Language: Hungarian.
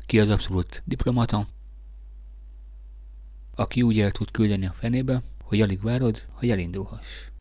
Ki az abszolút diplomata, aki úgy el tud küldeni a fenébe, hogy alig várod, hogy elindulhass.